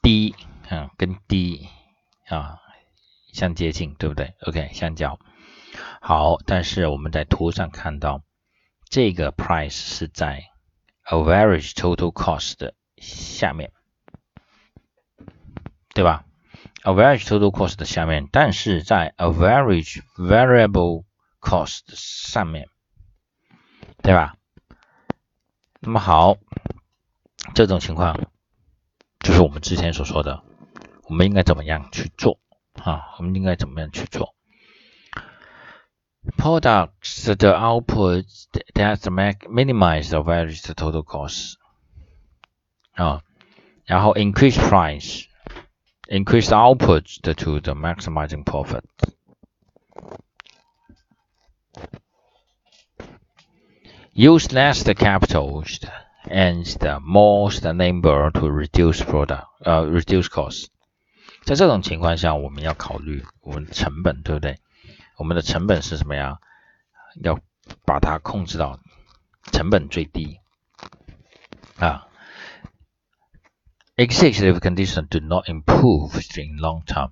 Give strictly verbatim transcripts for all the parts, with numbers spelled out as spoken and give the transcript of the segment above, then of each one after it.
低，嗯，跟低啊相接近，对不对 ？OK， 相交。好，但是我们在图上看到这个 price 是在 average total cost 的下面，对吧 ？average total cost 的下面，但是在 average variable cost 上面，对吧？那么好，这种情况就是我们之前所说的，我们应该怎么样去做啊？我们应该怎么样去做 ？Products the output that minimize the average total cost 啊，然后 increase price, increase output to the maximizing profit. Use less the capital and the more the labor to reduce product, 呃、uh, reduce cost. 在这种情况下，我们要考虑我们的成本，对不对？我们的成本是什么呀？要把它控制到成本最低啊。Executive conditions do not improve in long term.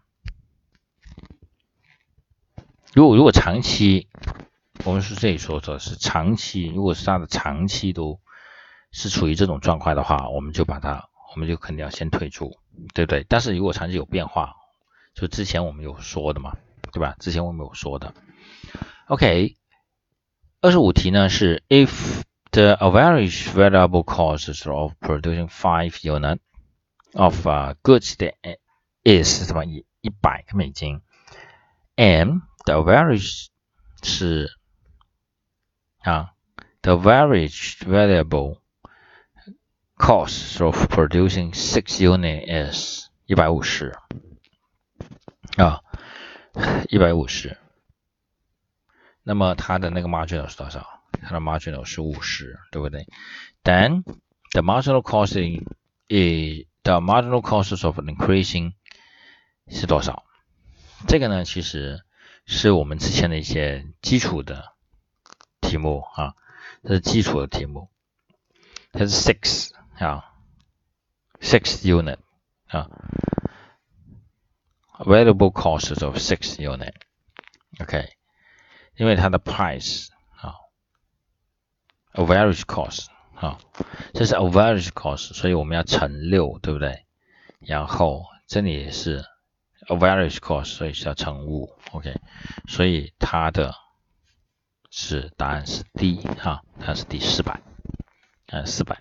如果如果长期，我们是这里说的是长期，如果是它的长期都是处于这种状况的话，我们就把它，我们就肯定要先退出，对不对？但是如果长期有变化，就之前我们有说的嘛，对吧？之前我们有说的。OK， 二十五题呢是 if the average variable cost of producing five units of、uh, goods that is 什么一百个美金 and the average 是啊 the average variable cost of producing six units is 一百五十啊一百五十，那么它的那个 marginal 是多少？它的 marginal 是五十，对不对？ Then the marginal cost is the marginal cost of increasing 是多少？这个呢，其实是我们之前的一些基础的题目啊，这是基础的题目，它是 six 啊 ，six unit 啊 ，available costs of six unit，OK， 因为它的 price 啊 ，average cost 啊，这是 average cost， 所以我们要乘六，对不对？然后这里也是 average cost， 所以是要乘五 ，OK， 所以它的是答案是 D 哈，它是第四百，呃，四百。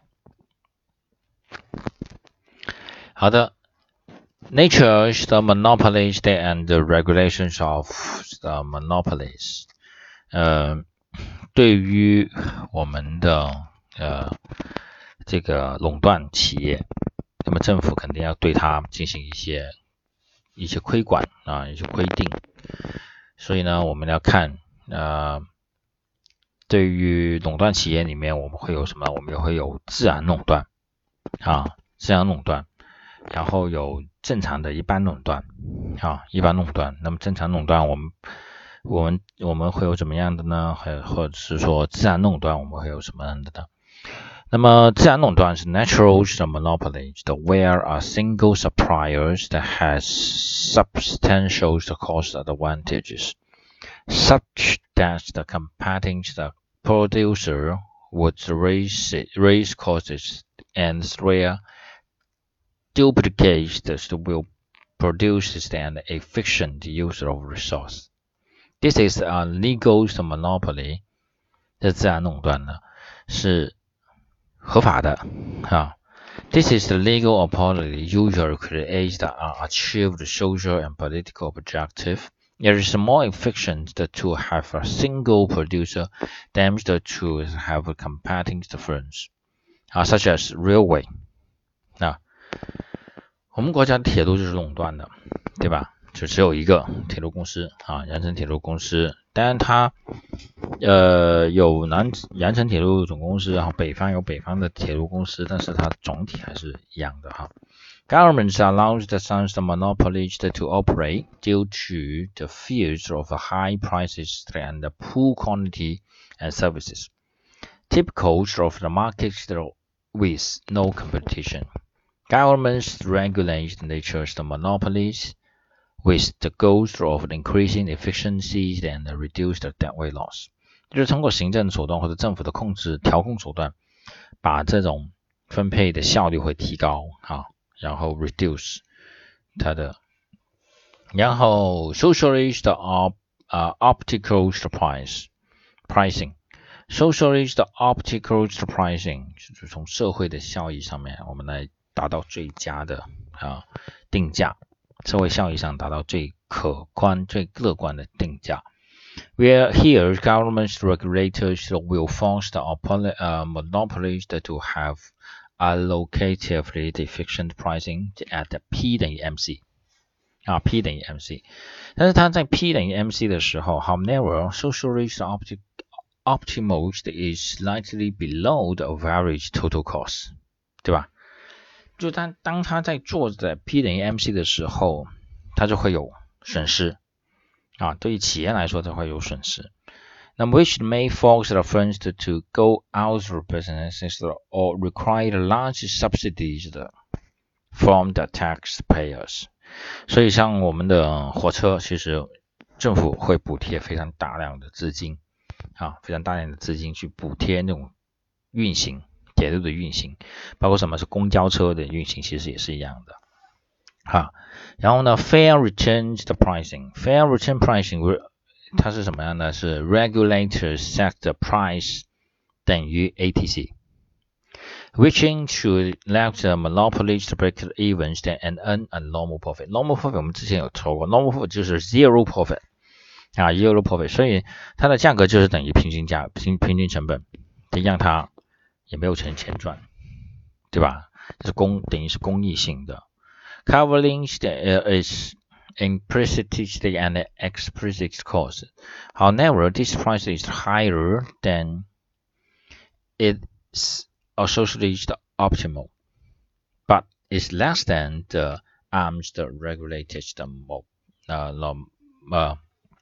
好的 ，Nature is the monopolies and the regulations of the monopolies。呃，对于我们的呃这个垄断企业，那么政府肯定要对它进行一些一些规管啊，一些规定。所以呢，我们要看呃。对于垄断企业里面，我们会有什么？我们也会有自然垄断啊，自然垄断，然后有正常的一般垄断啊，一般垄断。那么正常垄断，我们我们我们会有怎么样的呢？还或者是说自然垄断，我们会有什么样的呢？那么自然垄断是 natural monopoly, where a single supplier that has substantial cost advantages, such that the competing the producer would raise raise costs and where duplicate will produce an efficient use of resource. This is a legal monopoly. 这自然垄断呢是合法的啊。This is the legal monopoly usually creates the achieved social and political objective. It is more efficient to have a single producer than to have competing firms, uh, such as railway. 啊，我们国家的铁路就是垄断的，对吧？就只有一个铁路公司啊，羊城铁路公司。当然它呃有南羊城铁路总公司，然后北方有北方的铁路公司，但是它总体还是一样的哈。Governments allow the some monopolies to operate due to the fears of high prices and the poor quality and services, typical of the market with no competition. Governments regulate the nature's monopolies with the goals of increasing efficiency and reduce the debt weight loss， 就是通过行政手段或者政府的控制调控手段，把这种分配的效率会提高啊，然后 reduce 它的，然后 socialist op 啊、uh, optical price pricing。Socialist optical pricing 就是从社会的效益上面，我们来达到最佳的啊定价，社会效益上达到最可观、最乐观的定价。Where here governments regulators will force the uh, monopolies to have allocatively efficient pricing at P 等于 M C 啊 P 等于 M C， 但是它在 P 等于 M C 的时候 ，however socialist optical optimal is slightly below the average total cost， 对吧？就当当他在做在 P 等于 M C 的时候，他就会有损失啊，对于企业来说，它会有损失。那么 which may force the firms to, to go out of business or require large subsidies from the taxpayers。所以像我们的火车，其实政府会补贴非常大量的资金。啊，非常大量的资金去补贴那种运行铁路的运行，包括什么是公交车的运行，其实也是一样的。哈，然后呢 ，fair return the pricing，fair return pricing 它是什么样呢？是 regulators set the price 等于 A T C。Which should let the monopolies break even and earn a normal profit. Normal profit 我们之前有说过 ，normal profit 就是 zero profit。啊 ，zero profit， 所以它的价格就是等于平均价、平平均成本，得让它也没有钱钱赚，对吧？这是公等于是公益性的。Covering is implicit and explicit cost. However, this price is higher than its associated optimal, but is less than the arms regulated uh, uh,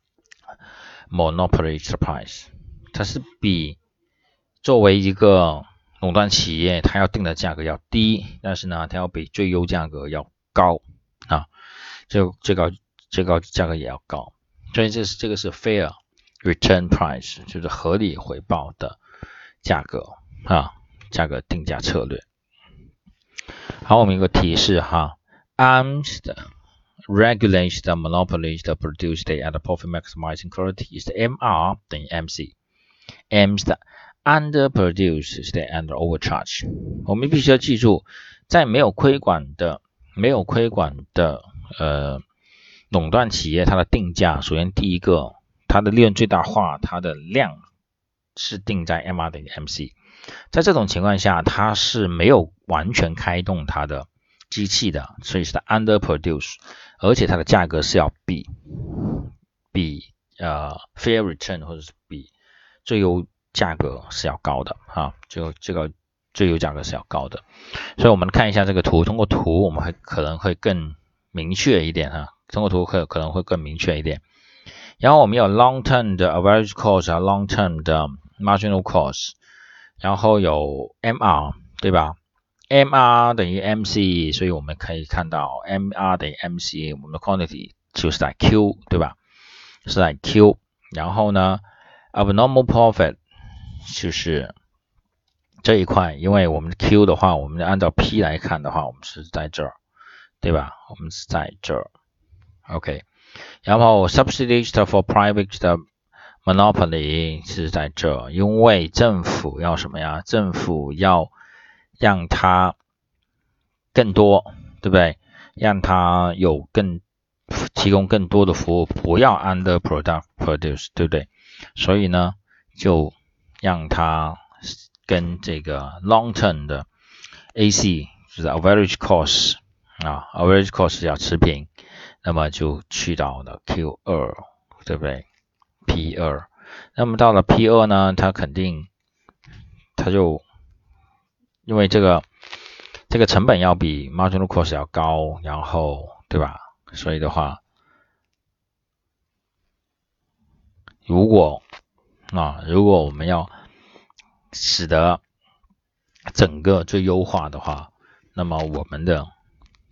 monopoly price， 它是比作为一个垄断企业，它要定的价格要低，但是呢，它要比最优价格要高啊，这最高最高价格也要高，所以这是这个是 fair return price， 就是合理回报的价格啊，价格定价策略。好，我们有个提示哈 ，arms 的。regulates the monopolies that produce the at the profit maximizing quality is the M R 等于 M C。M 的 underproduce is the under overcharge。我们必须要记住，在没有规管的、没有规管的呃垄断企业，它的定价，首先第一个，它的利润最大化，它的量是定在 M R 等于 M C。在这种情况下，它是没有完全开动它的机器的，所以是 underproduce。而且它的价格是要比比呃 fair return 或者是比最优价格是要高的啊，就这个最优价格是要高的。所以我们看一下这个图，通过图我们会可能会更明确一点哈，通过图可可能会更明确一点。然后我们有 long term 的 average cost 啊 ，long term 的 marginal cost， 然后有 M R 对吧？M R 等于 M C， 所以我们可以看到 M R 等于 M C， 我们的 quantity 就是在 Q， 对吧？是在 Q， 然后呢 abnormal profit 就是这一块，因为我们 Q 的话，我们按照 P 来看的话，我们是在这儿，对吧？我们是在这儿 ，OK。然后 subsidies for private 的 monopoly 是在这，因为政府要什么呀？政府要让它更多，对不对？让它有更提供更多的服务，不要 under produce， 对不对？所以呢，就让它跟这个 long term 的 A C 就是 average cost 啊 ，average cost 要持平，那么就去到了 Q 二， 对不对 ？P 二， 那么到了 P 二 呢，它肯定它就因为这个这个成本要比 marginal cost 要高，然后对吧？所以的话，如果啊，如果我们要使得整个最优化的话， 那么我们的